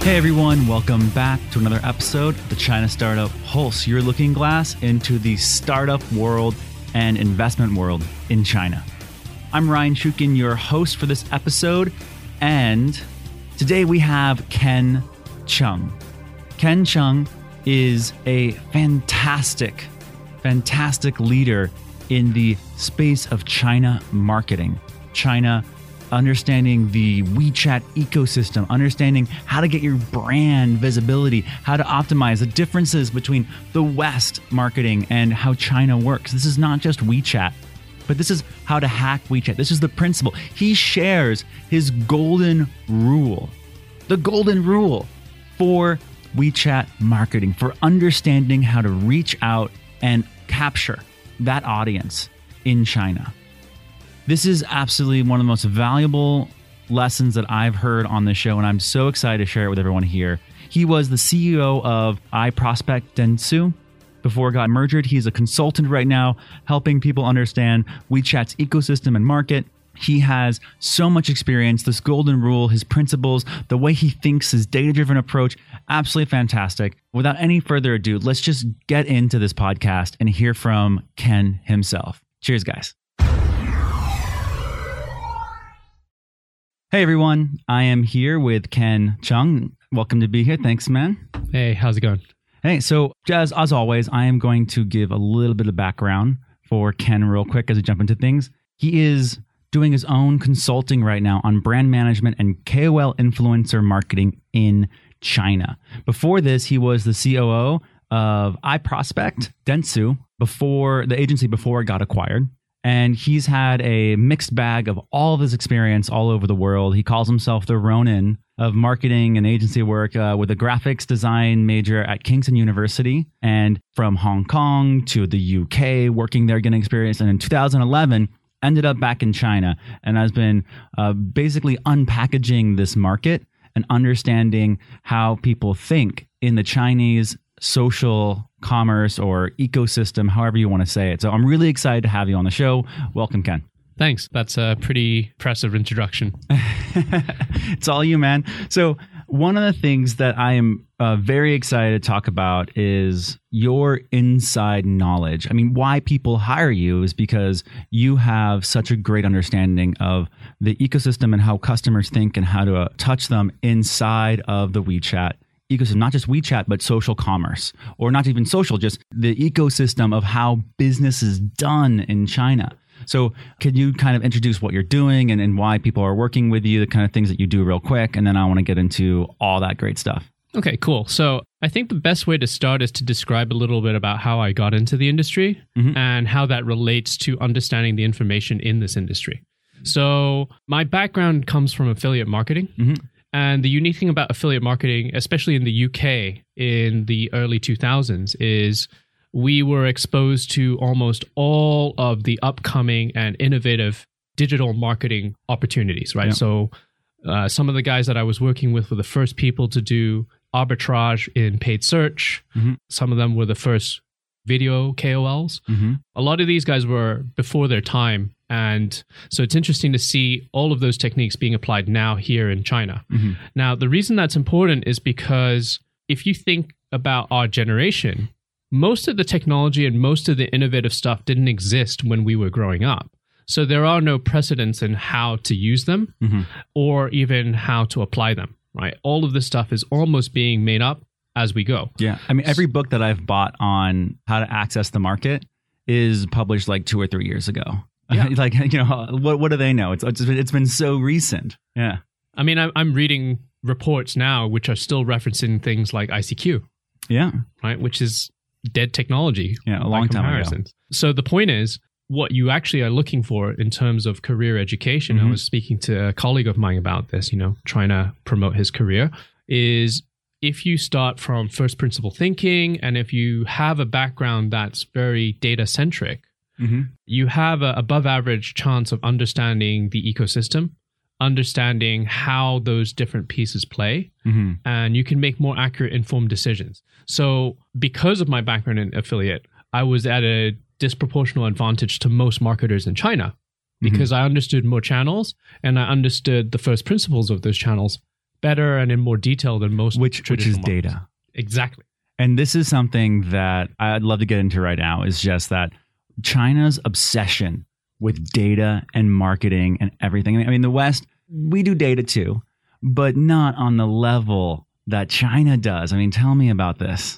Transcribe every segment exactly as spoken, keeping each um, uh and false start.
Hey everyone, welcome back to another episode of the China Startup Pulse, your looking glass into the startup world and investment world in China. I'm Ryan Shukin, your host for this episode, and today we have Ken Chung. Ken Chung is a fantastic, fantastic leader in the space of China marketing. China understanding the WeChat ecosystem, understanding how to get your brand visibility, how to optimize the differences between the West marketing and how China works. This is not just WeChat, but this is how to hack WeChat. This is the principle. He shares his golden rule, the golden rule for WeChat marketing, for understanding how to reach out and capture that audience in China. This is absolutely one of the most valuable lessons that I've heard on this show, and I'm so excited to share it with everyone here. He was the C E O of iProspect Dentsu before it got merged. He's a consultant right now, helping people understand WeChat's ecosystem and market. He has so much experience, this golden rule, his principles, the way he thinks, his data-driven approach, absolutely fantastic. Without any further ado, let's just get into this podcast and hear from Ken himself. Cheers, guys. Hey everyone, I am here with Ken Chung. Welcome to be here. Thanks, man. Hey, how's it going? Hey, so as, as always, I am going to give a little bit of background for Ken real quick as we jump into things. He is doing his own consulting right now on brand management and K O L influencer marketing in China. Before this, he was the C O O of iProspect Dentsu, before the agency before it got acquired. And he's had a mixed bag of all of his experience all over the world. He calls himself the Ronin of marketing and agency work uh, with a graphics design major at Kingston University, and from Hong Kong to the U K, working there, getting experience. And in two thousand eleven, ended up back in China and has been uh, basically unpackaging this market and understanding how people think in the Chinese social commerce or ecosystem, however you want to say it. So I'm really excited to have you on the show. Welcome, Ken. Thanks. That's a pretty impressive introduction. It's all you, man. So one of the things that I am uh, very excited to talk about is your inside knowledge. I mean, why people hire you is because you have such a great understanding of the ecosystem and how customers think and how to uh, touch them inside of the WeChat ecosystem, not just WeChat, but social commerce, or not even social, just the ecosystem of how business is done in China. So can you kind of introduce what you're doing and, and why people are working with you, the kind of things that you do real quick, and then I want to get into all that great stuff. Okay, cool. So I think the best way to start is to describe a little bit about how I got into the industry mm-hmm. and how that relates to understanding the information in this industry. So my background comes from affiliate marketing. Mm-hmm. And the unique thing about affiliate marketing, especially in the U K in the early two thousands, is we were exposed to almost all of the upcoming and innovative digital marketing opportunities, right? Yeah. So uh, some of the guys that I was working with were the first people to do arbitrage in paid search. Mm-hmm. Some of them were the first video K O Ls. Mm-hmm. A lot of these guys were before their time. And so it's interesting to see all of those techniques being applied now here in China. Mm-hmm. Now, the reason that's important is because if you think about our generation, most of the technology and most of the innovative stuff didn't exist when we were growing up. So there are no precedents in how to use them mm-hmm. or even how to apply them, right? All of this stuff is almost being made up as we go. Yeah. I mean, every book that I've bought on how to access the market is published like two or three years ago. Yeah. Like, you know, what what do they know? It's, it's it's been so recent. Yeah. I mean, I'm reading reports now which are still referencing things like I C Q. Yeah. Right. Which is dead technology. Yeah. A long time ago. So the point is, what you actually are looking for in terms of career education, mm-hmm. I was speaking to a colleague of mine about this, you know, trying to promote his career, is if you start from first principle thinking and if you have a background that's very data centric, mm-hmm. you have an above average chance of understanding the ecosystem, understanding how those different pieces play, mm-hmm. and you can make more accurate, informed decisions. So because of my background in affiliate, I was at a disproportional advantage to most marketers in China because mm-hmm. I understood more channels and I understood the first principles of those channels better and in more detail than most which which is traditional data. models. Exactly. And this is something that I'd love to get into right now, is just that China's obsession with data and marketing and everything. I mean, the West, we do data too, but not on the level that China does. I mean, tell me about this.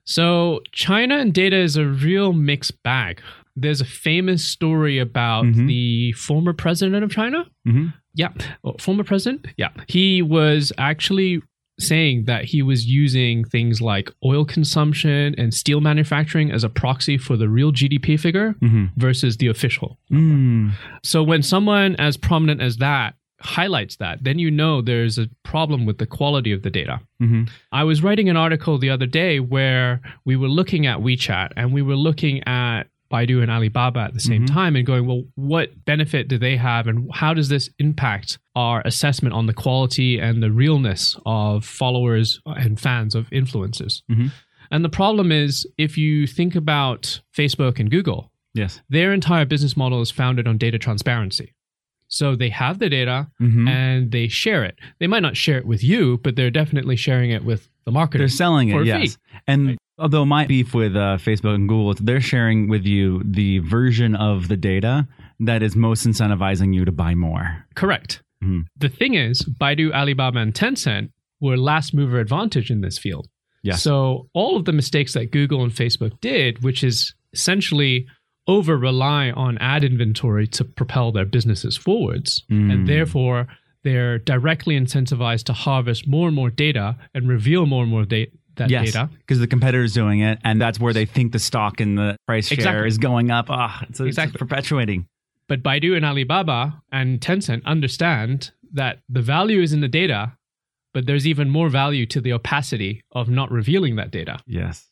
So China and data is a real mixed bag. There's a famous story about mm-hmm. the former president of China. Mm-hmm. Yeah. Well, former president. Yeah. He was actually saying that he was using things like oil consumption and steel manufacturing as a proxy for the real G D P figure mm-hmm. versus the official number. Mm. So when someone as prominent as that highlights that, then you know there's a problem with the quality of the data. Mm-hmm. I was writing an article the other day where we were looking at WeChat and we were looking at Baidu and Alibaba at the same mm-hmm. time and going, well, what benefit do they have and how does this impact our assessment on the quality and the realness of followers and fans of influencers? Mm-hmm. And the problem is, if you think about Facebook and Google, yes, their entire business model is founded on data transparency. So they have the data mm-hmm. and they share it. They might not share it with you, but they're definitely sharing it with the marketer. They're selling it, for a yes. fee. And right. although my beef with uh, Facebook and Google, they're sharing with you the version of the data that is most incentivizing you to buy more. Correct. Mm-hmm. The thing is, Baidu, Alibaba, and Tencent were last mover advantage in this field. Yes. So all of the mistakes that Google and Facebook did, which is essentially over rely on ad inventory to propel their businesses forwards. Mm. And therefore, they're directly incentivized to harvest more and more data and reveal more and more da- that yes, data. Because the competitor's doing it, and that's where they think the stock and the price share exactly. is going up. Ah, oh, it's, exactly. it's perpetuating. But Baidu and Alibaba and Tencent understand that the value is in the data, but there's even more value to the opacity of not revealing that data. Yes.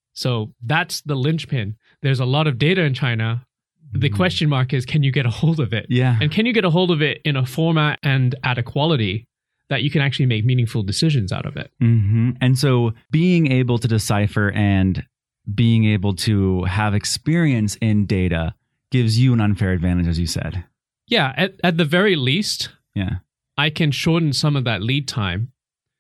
So that's the linchpin. There's a lot of data in China. The mm. question mark is, can you get a hold of it? Yeah. And can you get a hold of it in a format and at a quality that you can actually make meaningful decisions out of it? Mm-hmm. And so being able to decipher and being able to have experience in data gives you an unfair advantage, as you said. Yeah. At, at the very least, yeah, I can shorten some of that lead time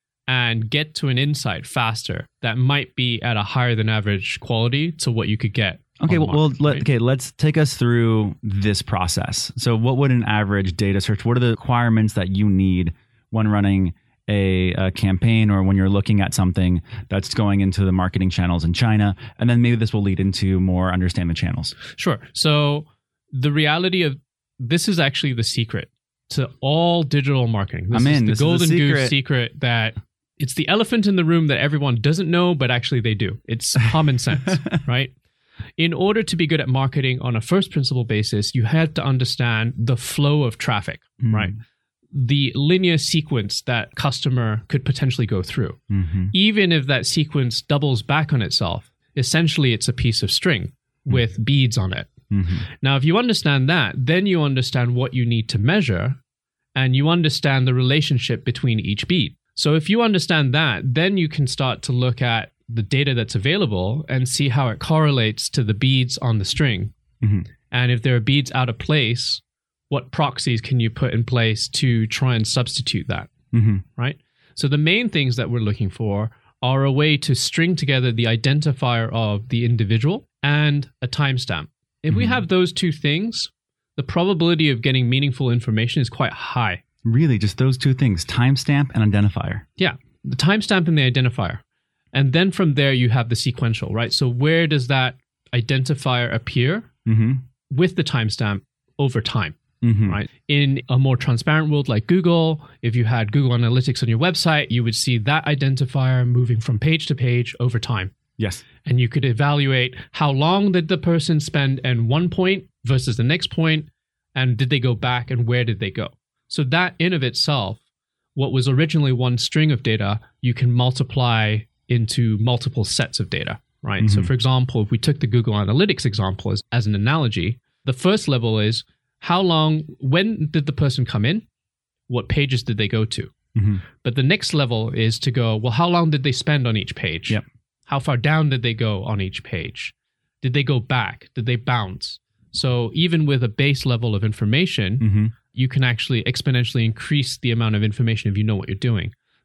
and get to an insight faster that might be at a higher than average quality to what you could get. Okay, well, well market, let, right? okay, let's take us through this process. So what would an average data search, what are the requirements that you need when running a, a campaign or when you're looking at something that's going into the marketing channels in China? And then maybe this will lead into more understand the channels. Sure. So the reality of this is actually the secret to all digital marketing. This I'm is in. the This golden is the secret. goose secret that it's the elephant in the room that everyone doesn't know, but actually they do. It's common sense, right? In order to be good at marketing on a first principle basis, you have to understand the flow of traffic, mm. right? The linear sequence that customer could potentially go through. Mm-hmm. Even if that sequence doubles back on itself, essentially it's a piece of string mm. with beads on it. Mm-hmm. Now, if you understand that, then you understand what you need to measure and you understand the relationship between each bead. So if you understand that, then you can start to look at the data that's available and see how it correlates to the beads on the string. Mm-hmm. And if there are beads out of place, what proxies can you put in place to try and substitute that, mm-hmm. right? So the main things that we're looking for are a way to string together the identifier of the individual and a timestamp. If mm-hmm. we have those two things, the probability of getting meaningful information is quite high. Really, just those two things, timestamp and identifier. Yeah, the timestamp and the identifier. And then from there, you have the sequential, right? So where does that identifier appear mm-hmm. with the timestamp over time, mm-hmm. right? In a more transparent world like Google, if you had Google Analytics on your website, you would see that identifier moving from page to page over time. Yes. And you could evaluate how long did the person spend in one point versus the next point, and did they go back and where did they go? So that in of itself, what was originally one string of data, you can multiply into multiple sets of data, right? Mm-hmm. So for example, if we took the Google Analytics example as, as an analogy, the first level is how long, when did the person come in? What pages did they go to? Mm-hmm. But the next level is to go, well, how long did they spend on each page? Yep. How far down did they go on each page? Did they go back? Did they bounce? So even with a base level of information, mm-hmm. you can actually exponentially increase the amount of information if you know what you're doing.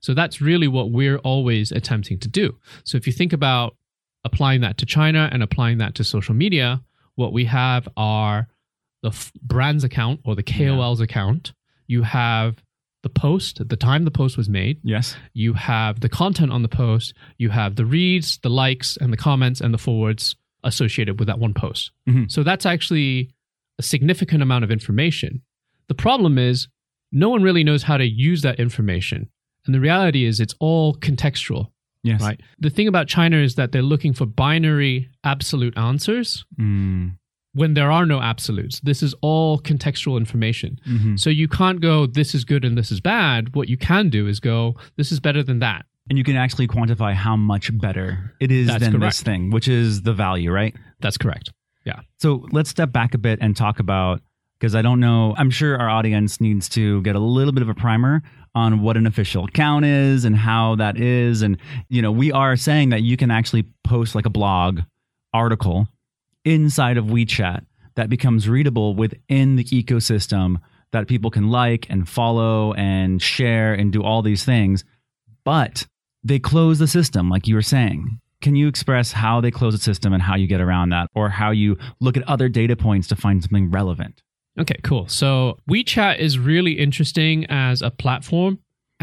So that's really what we're always attempting to do. So if you think about applying that to China and applying that to social media, what we have are the f- brand's account or the K O L's yeah. account. You have the post, at the time the post was made. Yes. You have the content on the post. You have the reads, the likes, and the comments and the forwards associated with that one post. Mm-hmm. So that's actually a significant amount of information. The problem is no one really knows how to use that information. And the reality is it's all contextual. Yes. Right. The thing about China is that they're looking for binary absolute answers mm. when there are no absolutes. This is all contextual information. Mm-hmm. So you can't go, this is good and this is bad. What you can do is go, this is better than that. And you can actually quantify how much better it is That's than correct. This thing, which is the value, right? That's correct. Yeah. So let's step back a bit and talk about, because I don't know, I'm sure our audience needs to get a little bit of a primer on what an official account is and how that is. And, you know, we are saying that you can actually post like a blog article inside of WeChat that becomes readable within the ecosystem that people can like and follow and share and do all these things. But they close the system, like you were saying. Can you express how they close the system and how you get around that, or how you look at other data points to find something relevant? Okay, cool. So WeChat is really interesting as a platform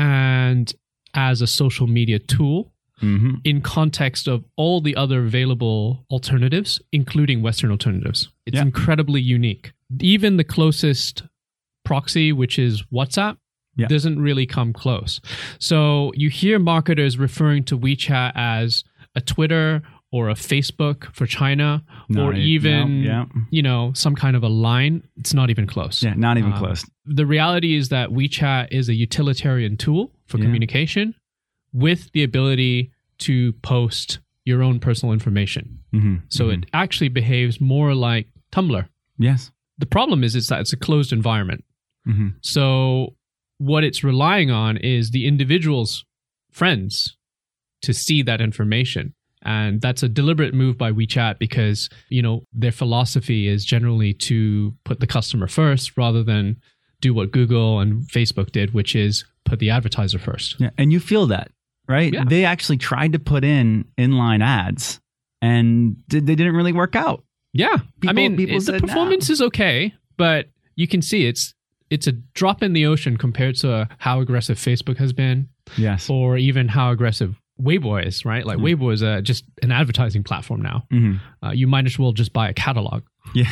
and as a social media tool mm-hmm. in context of all the other available alternatives, including Western alternatives. It's yeah. incredibly unique. Even the closest proxy, which is WhatsApp, yeah. doesn't really come close. So you hear marketers referring to WeChat as a Twitter or a Facebook for China, not or even, no, yeah. you know, some kind of a line. It's not even close. Yeah, not even um, close. The reality is that WeChat is a utilitarian tool for yeah. communication with the ability to post your own personal information. Mm-hmm. So mm-hmm. it actually behaves more like Tumblr. Yes. The problem is, is that it's a closed environment. Mm-hmm. So what it's relying on is the individual's friends to see that information. And that's a deliberate move by WeChat because, you know, their philosophy is generally to put the customer first rather than do what Google and Facebook did, which is put the advertiser first. Yeah, and you feel that, right? Yeah. They actually tried to put in inline ads and they didn't really work out. Yeah. People, I mean, people the performance no. is okay, but you can see it's it's a drop in the ocean compared to how aggressive Facebook has been. Yes. Or even how aggressive Weibo is, right? Like mm-hmm. Weibo is a, just an advertising platform now. Mm-hmm. Uh, you might as well just buy a catalog. Yeah.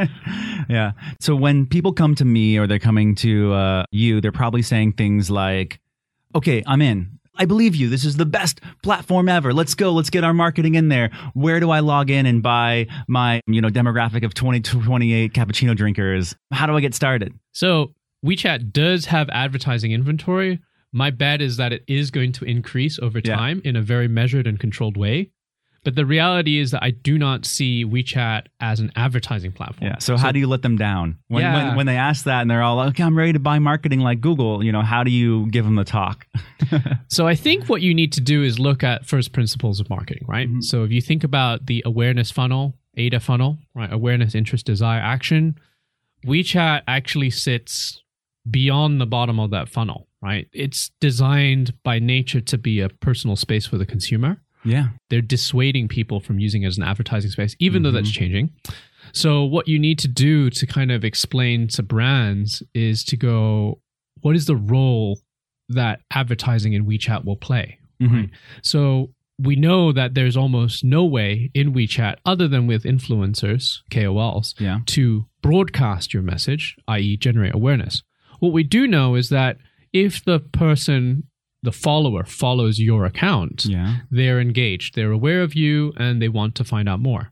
yeah. So when people come to me or they're coming to uh, you, they're probably saying things like, okay, I'm in. I believe you. This is the best platform ever. Let's go. Let's get our marketing in there. Where do I log in and buy my, you know, demographic of twenty to twenty-eight cappuccino drinkers? How do I get started? So WeChat does have advertising inventory. My bet is that it is going to increase over time yeah. in a very measured and controlled way. But the reality is that I do not see WeChat as an advertising platform. Yeah. So, so how do you let them down? When, yeah. when when they ask that and they're all like, okay, I'm ready to buy marketing like Google, you know, how do you give them the talk? So I think what you need to do is look at first principles of marketing, right? Mm-hmm. So if you think about the awareness funnel, A D A funnel, right? Awareness, interest, desire, action. WeChat actually sits beyond the bottom of that funnel, right? It's designed by nature to be a personal space for the consumer. Yeah. They're dissuading people from using it as an advertising space, even mm-hmm. though that's changing. So what you need to do to kind of explain to brands is to go, what is the role that advertising in WeChat will play? Mm-hmm. Right? So we know that there's almost no way in WeChat, other than with influencers, K O Ls, yeah. to broadcast your message, that is generate awareness. What we do know is that if the person, the follower, follows your account, yeah. they're engaged, they're aware of you, and they want to find out more.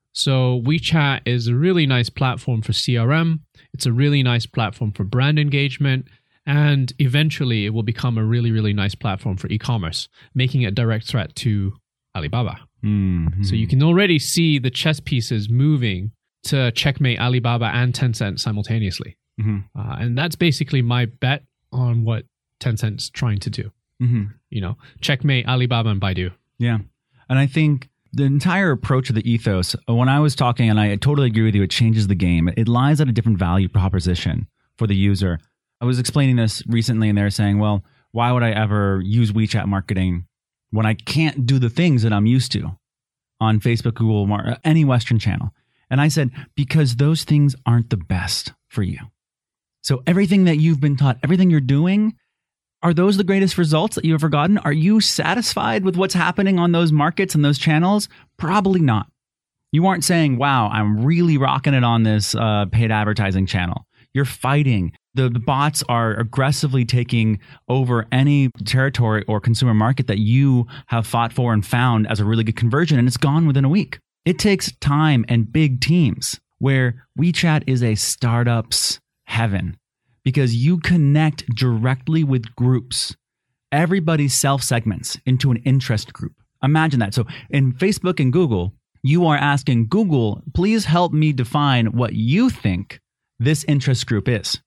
So WeChat is a really nice platform for C R M. It's a really nice platform for brand engagement. And eventually it will become a really, really nice platform for e-commerce, making it a direct threat to Alibaba. Mm-hmm. So you can already see the chess pieces moving to checkmate Alibaba and Tencent simultaneously. Mm-hmm. Uh, and that's basically my bet on what Tencent's trying to do. Mm-hmm. You know, checkmate Alibaba and Baidu. Yeah. And I think the entire approach of the ethos, when I was talking, and I totally agree with you, it changes the game. It lies at a different value proposition for the user. I was explaining this recently and they're saying, well, why would I ever use WeChat marketing when I can't do the things that I'm used to on Facebook, Google, any Western channel? And I said, because those things aren't the best for you. So everything that you've been taught, everything you're doing, are those the greatest results that you've ever gotten? Are you satisfied with what's happening on those markets and those channels? Probably not. You aren't saying, wow, I'm really rocking it on this uh, paid advertising channel. You're fighting. The, the bots are aggressively taking over any territory or consumer market that you have fought for and found as a really good conversion, and it's gone within a week. It takes time and big teams, where WeChat is a startup's heaven because you connect directly with groups. Everybody self-segments into an interest group. Imagine that. So in Facebook and Google, you are asking Google, please help me define what you think this interest group is.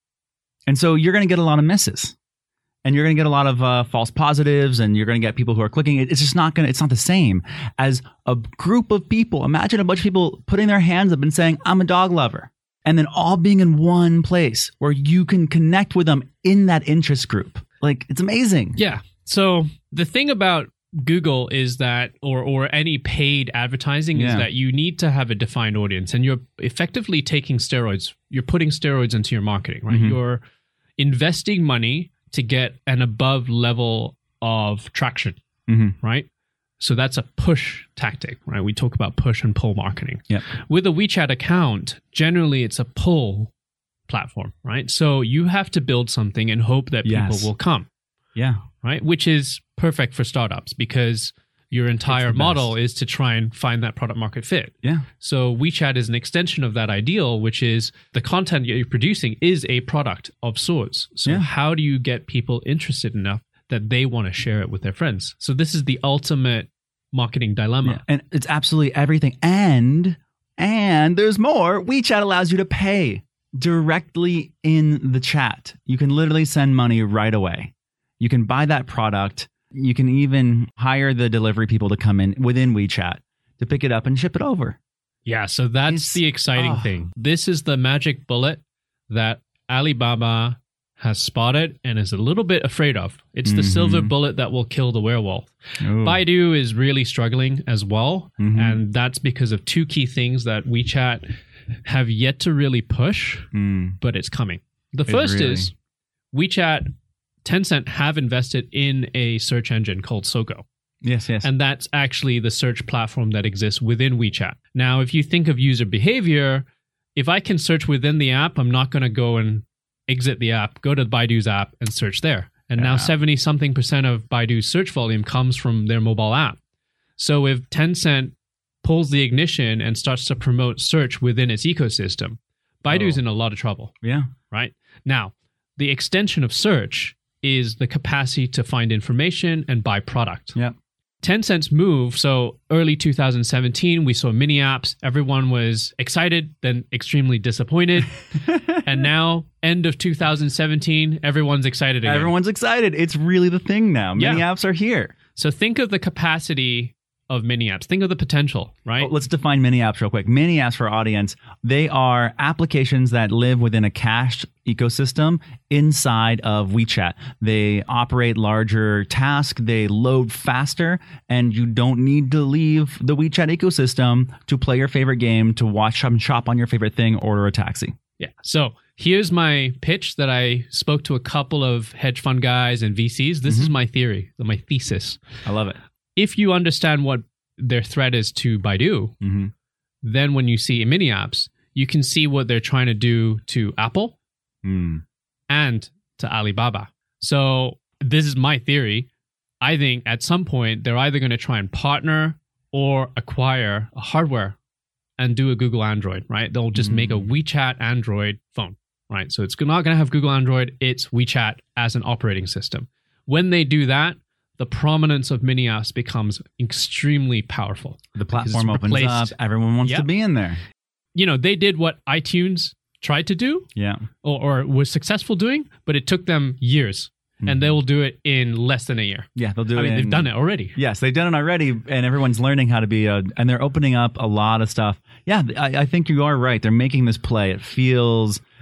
And so you're going to get a lot of misses, and you're going to get a lot of uh, false positives, and you're going to get people who are clicking. It's just not going to, it's not the same as a group of people. Imagine a bunch of people putting their hands up and saying, I'm a dog lover. And then all being in one place where you can connect with them in that interest group. Like, it's amazing. Yeah. So the thing about Google is that, or or any paid advertising, Yeah. is that you need to have a defined audience, and you're effectively taking steroids. You're putting steroids into your marketing, right? Mhm. You're investing money to get an above level of traction, Mm-hmm. right? So that's a push tactic, right? We talk about push and pull marketing. Yep. With a WeChat account, generally it's a pull platform, right? So you have to build something and hope that Yes. people will come. Yeah. Right? Which is perfect for startups because your entire the model best. is to try and find that product market fit. Yeah. So WeChat is an extension of that ideal, which is the content that you're producing is a product of sorts. So Yeah. how do you get people interested enough that they want to share it with their friends? So this is the ultimate marketing dilemma. Yeah. And it's absolutely everything. And, and there's more. WeChat allows you to pay directly in the chat. You can literally send money right away. You can buy that product. You can even hire the delivery people to come in within WeChat to pick it up and ship it over. Yeah, so that's It's- the exciting oh. thing. This is the magic bullet that Alibaba has spotted and is a little bit afraid of. It's the Mhm. silver bullet that will kill the werewolf. Ooh. Baidu is really struggling as well, Mhm. and that's because of two key things that WeChat have yet to really push, Mm. but it's coming. The It first really- is WeChat, Tencent have invested in a search engine called Sogou. Yes, yes. And that's actually the search platform that exists within WeChat. Now, if you think of user behavior, if I can search within the app, I'm not going to go and exit the app, go to Baidu's app and search there. And now Yeah. seventy something percent of Baidu's search volume comes from their mobile app. So if Tencent pulls the ignition and starts to promote search within its ecosystem, Baidu's Oh. in a lot of trouble, yeah. right? Now, the extension of search is the capacity to find information and buy product. Yeah. Tencent's move, so early two thousand seventeen, we saw mini apps. Everyone was excited, then extremely disappointed. And now, end of two thousand seventeen, everyone's excited again. Everyone's excited. It's really the thing now. Mini Yeah. apps are here. So think of the capacity of mini apps. Think of the potential, right? Oh, let's define mini apps real quick. Mini apps for our audience, they are applications that live within a cached ecosystem inside of WeChat. They operate larger tasks, they load faster, and you don't need to leave the WeChat ecosystem to play your favorite game, to watch and shop on your favorite thing, order a taxi. Yeah. So here's my pitch that I spoke to a couple of hedge fund guys and V Cs. This is my theory, my thesis. I love it. If you understand what their threat is to Baidu, Mm-hmm. then when you see mini apps, you can see what they're trying to do to Apple Mm. and to Alibaba. So this is my theory. I think at some point they're either going to try and partner or acquire a hardware and do a Google Android, right? They'll just make a WeChat Android phone, right? So it's not going to have Google Android. It's WeChat as an operating system. When they do that, the prominence of mini apps becomes extremely powerful. The Because platform it's opens replaced- up. Everyone wants Yep. to be in there. You know, they did what iTunes tried to do Yeah. or, or was successful doing, but it took them years. And they will do it in less than a year. Yeah, they'll do I it. mean, they've in- done it already. Yes, they've done it already, and everyone's learning how to be a, and they're opening up a lot of stuff. Yeah, I, I think you are right. They're making this play. It feels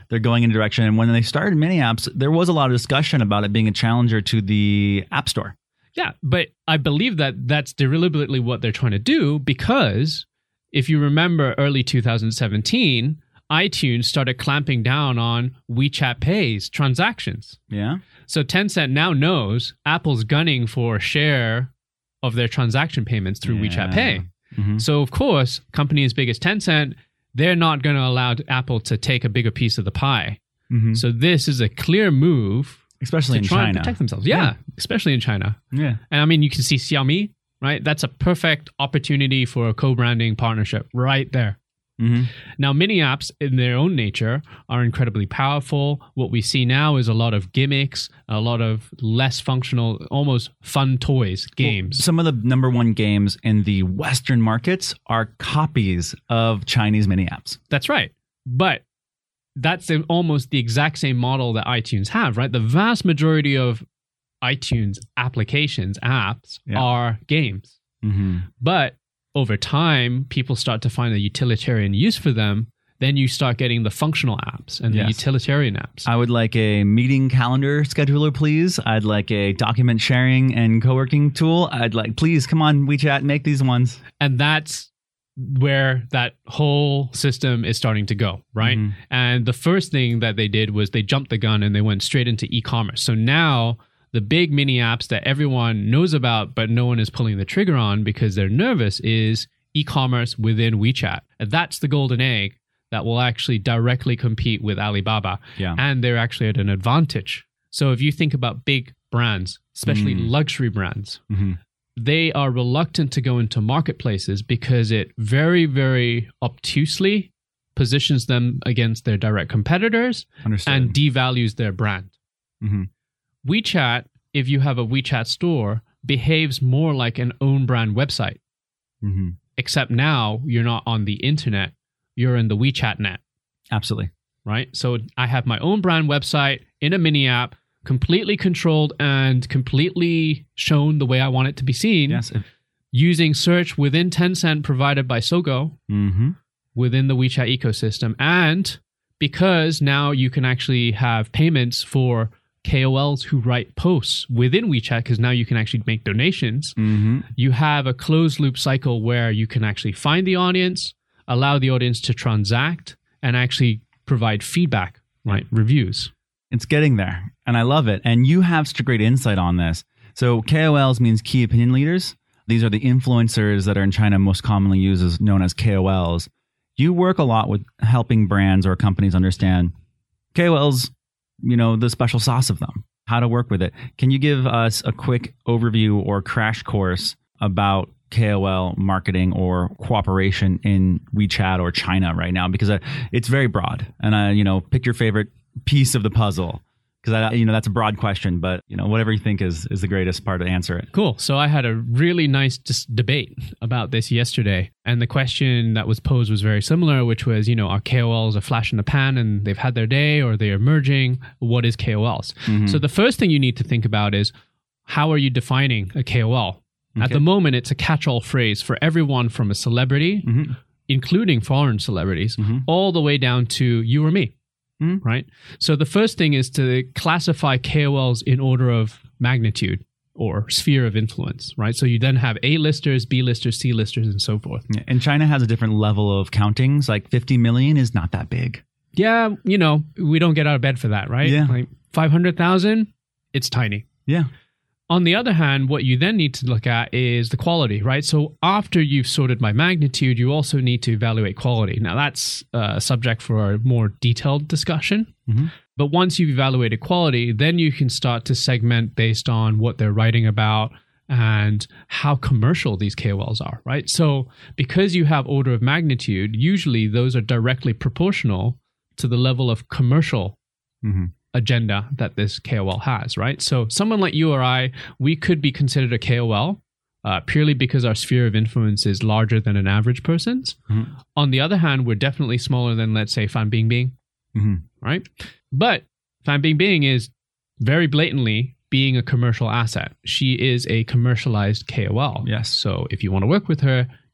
they're going in a direction. And when they started mini apps, there was a lot of discussion about it being a challenger to the App Store. Yeah, but I believe that that's deliberately what they're trying to do, because if you remember early two thousand seventeen, iTunes started clamping down on WeChat Pay's transactions. Yeah. So Tencent now knows Apple's gunning for a share of their transaction payments through Yeah. WeChat Pay. Mm-hmm. So of course, company as big as Tencent, they're not going to allow Apple to take a bigger piece of the pie. Mm-hmm. So this is a clear move, especially to in try China. and protect themselves. Yeah, Yeah. especially in China. Yeah. And I mean, you can see Xiaomi, right? That's a perfect opportunity for a co-branding partnership right there. Mm-hmm. Now, mini apps in their own nature are incredibly powerful. What we see now is a lot of gimmicks, a lot of less functional, almost fun toys, games. Well, some of the number one games in the Western markets are copies of Chinese mini apps. That's right. But that's the- almost the exact same model that iTunes have, right? The vast majority of iTunes applications, apps, Yeah. are games. Mm-hmm. But over time, people start to find a utilitarian use for them. Then you start getting the functional apps and Yes. the utilitarian apps. I would like a meeting calendar scheduler, please. I'd like a document sharing and co-working tool. I'd like, please, come on, WeChat, make these ones. And that's where that whole system is starting to go, right? Mhm. And the first thing that they did was they jumped the gun and they went straight into e-commerce. So now the big mini apps that everyone knows about, but no one is pulling the trigger on because they're nervous, is e-commerce within WeChat. And that's the golden egg that will actually directly compete with Alibaba. Yeah. And they're actually at an advantage. So if you think about big brands, especially Mm. luxury brands, Mm-hmm. they are reluctant to go into marketplaces because it very, very obtusely positions them against their direct competitors Understood. and devalues their brand. Mm-hmm. WeChat, if you have a WeChat store, behaves more like an own brand website, Mm-hmm. except now you're not on the internet, you're in the WeChat net, Absolutely. right? So I have my own brand website in a mini app, completely controlled and completely shown the way I want it to be seen, Yes. using search within Tencent provided by Sogou Mm-hmm. within the WeChat ecosystem. And because now you can actually have payments for K O Ls who write posts within WeChat, because now you can actually make donations, Mm-hmm. you have a closed loop cycle where you can actually find the audience, allow the audience to transact, and actually provide feedback, right? Reviews. It's getting there, and I love it. And you have such a great insight on this. So K O Ls means key opinion leaders. These are the influencers that are in China most commonly used as known as K O Ls. You work a lot with helping brands or companies understand K O Ls, you know, the special sauce of them, how to work with it. Can you give us a quick overview or crash course about K O L marketing or cooperation in WeChat or China right now? Because uh, it's very broad, and I, you know, pick your favorite piece of the puzzle. Because I, you know, that's a broad question, but you know, whatever you think is is the greatest part to answer it. Cool. So I had a really nice dis- debate about this yesterday. And the question that was posed was very similar, which was, you know, are K O Ls a flash in the pan and they've had their day, or they're emerging? What is K O Ls? Mhm. So the first thing you need to think about is, how are you defining a K O L? At Okay. the moment, it's a catch-all phrase for everyone from a celebrity, Mhm. including foreign celebrities, Mhm. all the way down to you or me. Mhm. Right? So the first thing is to classify K O Ls in order of magnitude or sphere of influence, right? So you then have A-listers, B-listers, C-listers, and so forth. Yeah, and China has a different level of countings. Like fifty million is not that big. Yeah, you know, we don't get out of bed for that, right? Yeah. Like five hundred thousand, it's tiny. Yeah. On the other hand, what you then need to look at is the quality, right? So after you've sorted by magnitude, you also need to evaluate quality. Now, that's a subject for a more detailed discussion. Mhm. But once you've evaluated quality, then you can start to segment based on what they're writing about and how commercial these K O Ls are, right? So because you have order of magnitude, usually those are directly proportional to the level of commercial Mhm. agenda that this K O L has, right? So someone like you or I, we could be considered a K O L uh, purely because our sphere of influence is larger than an average person's. Mhm. On the other hand, we're definitely smaller than, let's say, Fan Bingbing, Mhm. right? But Fan Bingbing is very blatantly being a commercial asset. She is a commercialized K O L. Yes. So if you want to work with her,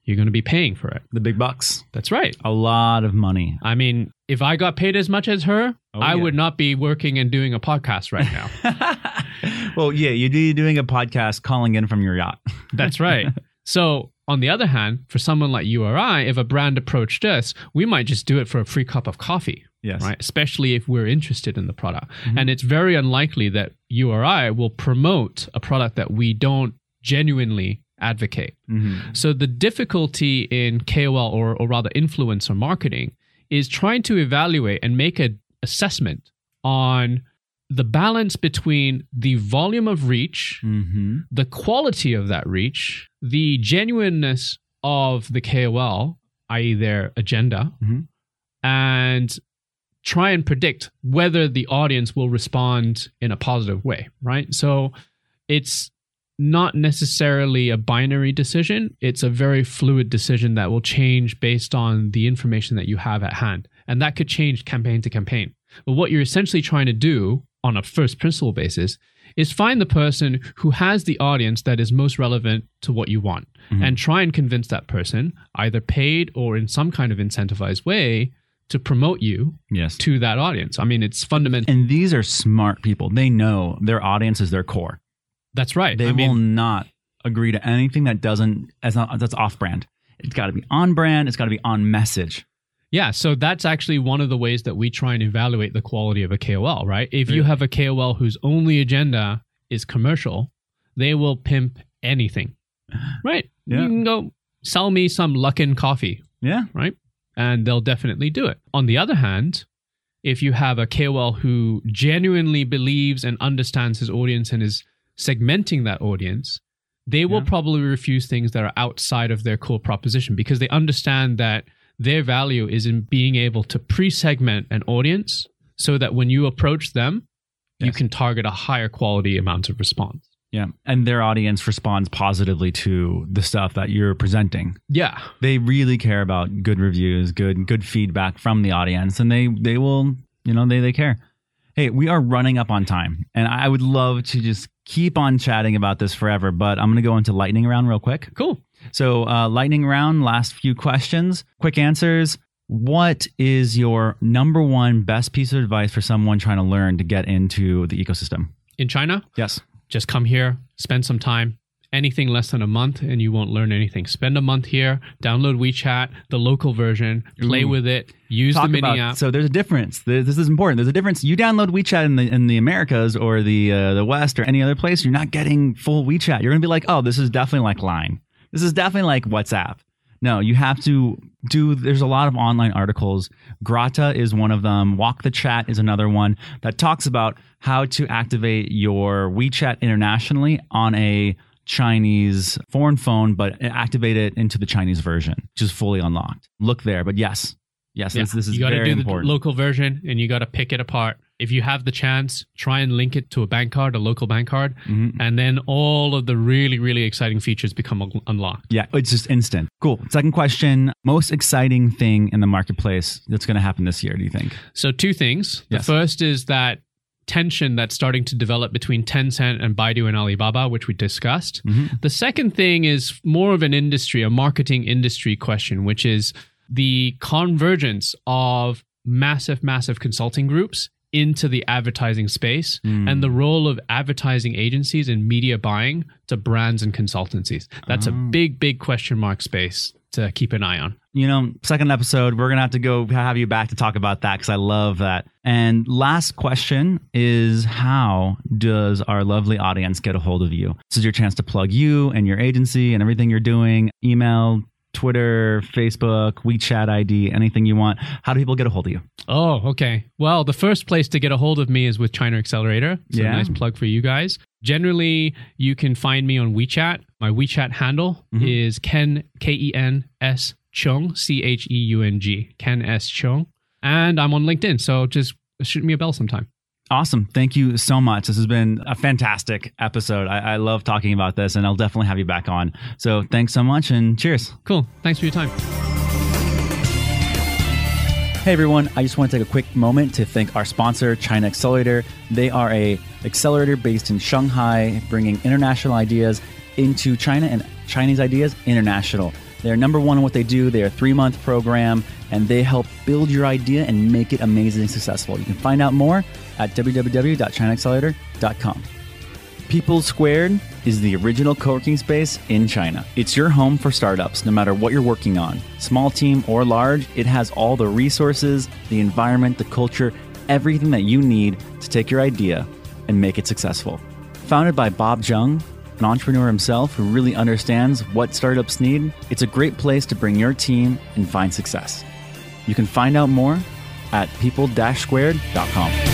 you're going to be paying for it. The big bucks. That's right. A lot of money. I mean, if I got paid as much as her, oh, I yeah. would not be working and doing a podcast right now. Well, yeah, you'd be doing a podcast calling in from your yacht. That's right. So on the other hand, for someone like U R I, if a brand approached us, we might just do it for a free cup of coffee. Yes. Right. Especially if we're interested in the product. Mm-hmm. And it's very unlikely that U R I will promote a product that we don't genuinely advocate. Mm-hmm. So the difficulty in K O L or, or rather influencer marketing is trying to evaluate and make an assessment on the balance between the volume of reach, mm-hmm. the quality of that reach, the genuineness of the K O L, that is their agenda, mm-hmm. and try and predict whether the audience will respond in a positive way, right? So it's not necessarily a binary decision. It's a very fluid decision that will change based on the information that you have at hand. And that could change campaign to campaign. But what you're essentially trying to do on a first principle basis is find the person who has the audience that is most relevant to what you want, mm-hmm. and try and convince that person, either paid or in some kind of incentivized way, to promote you yes. to that audience. I mean, it's fundamental. And these are smart people. They know their audience is their core. That's right. They I mean, will not agree to anything that doesn't that's not that's off brand. It's got to be on brand. It's got to be on message. Yeah, so that's actually one of the ways that we try and evaluate the quality of a K O L, right? If really? you have a K O L whose only agenda is commercial, they will pimp anything, right? Yeah. You can go sell me some Luckin coffee. Yeah. Right? And they'll definitely do it. On the other hand, if you have a K O L who genuinely believes and understands his audience and is segmenting that audience, they will yeah. probably refuse things that are outside of their core proposition because they understand that their value is in being able to pre-segment an audience so that when you approach them, yes. you can target a higher quality amount of response. Yeah. And their audience responds positively to the stuff that you're presenting. Yeah. They really care about good reviews, good good feedback from the audience, and they they will, you know, they they care. Hey, we are running up on time, and I would love to just keep on chatting about this forever, but I'm going to go into lightning round real quick. Cool. So uh, lightning round, last few questions, quick answers. What is your number one best piece of advice for someone trying to learn to get into the ecosystem? In China? Yes. Just come here, spend some time. Anything less than a month and you won't learn anything. Spend a month here, download WeChat, the local version, play Ooh. with it, use Talk the mini about, app. So there's a difference. This is important. There's a difference. You download WeChat in the in the Americas or the uh, the West or any other place, you're not getting full WeChat. You're going to be like, oh, this is definitely like Line. This is definitely like WhatsApp. No, you have to do, there's a lot of online articles. Grata is one of them. Walk the Chat is another one that talks about how to activate your WeChat internationally on a Chinese foreign phone, but activate it into the Chinese version, which is fully unlocked. Look there. But yes, yes, yeah. this, this is you gotta very do important. The local version and you got to pick it apart. If you have the chance, try and link it to a bank card, a local bank card, mm-hmm. and then all of the really, really exciting features become un- unlocked. Yeah, it's just instant. Cool. Second question, most exciting thing in the marketplace that's going to happen this year, do you think? So two things. Yes. The first is that tension that's starting to develop between Tencent and Baidu and Alibaba, which we discussed. Mm-hmm. The second thing is more of an industry, a marketing industry question, which is the convergence of massive, massive consulting groups into the advertising space mm. and the role of advertising agencies and media buying to brands and consultancies. That's oh. a big, big question mark space to keep an eye on. You know, second episode, we're going to have to go have you back to talk about that because I love that. And last question is, how does our lovely audience get a hold of you? This is your chance to plug you and your agency and everything you're doing. Email, Twitter, Facebook, WeChat I D, anything you want. How do people get a hold of you? Oh, okay. Well, the first place to get a hold of me is with China Accelerator. So yeah. a nice plug for you guys. Generally, you can find me on WeChat. My WeChat handle mm-hmm. is Ken, K E N S Cheung, C H E U N G, Ken S Cheung. And I'm on LinkedIn, so just shoot me a bell sometime. Awesome. Thank you so much. This has been a fantastic episode. I, I love talking about this, and I'll definitely have you back on. So thanks so much, and cheers. Cool. Thanks for your time. Hey everyone, I just want to take a quick moment to thank our sponsor, China Accelerator. They are a accelerator based in Shanghai, bringing international ideas into China and Chinese ideas international. They're number one in what they do. They're a three-month program, and they help build your idea and make it amazingly successful. You can find out more at w w w dot china accelerator dot com. People Squared is the original co-working space in China. It's your home for startups, no matter what you're working on. Small team or large, it has all the resources, the environment, the culture, everything that you need to take your idea and make it successful. Founded by Bob Jung, an entrepreneur himself who really understands what startups need, it's a great place to bring your team and find success. You can find out more at people dash squared dot com.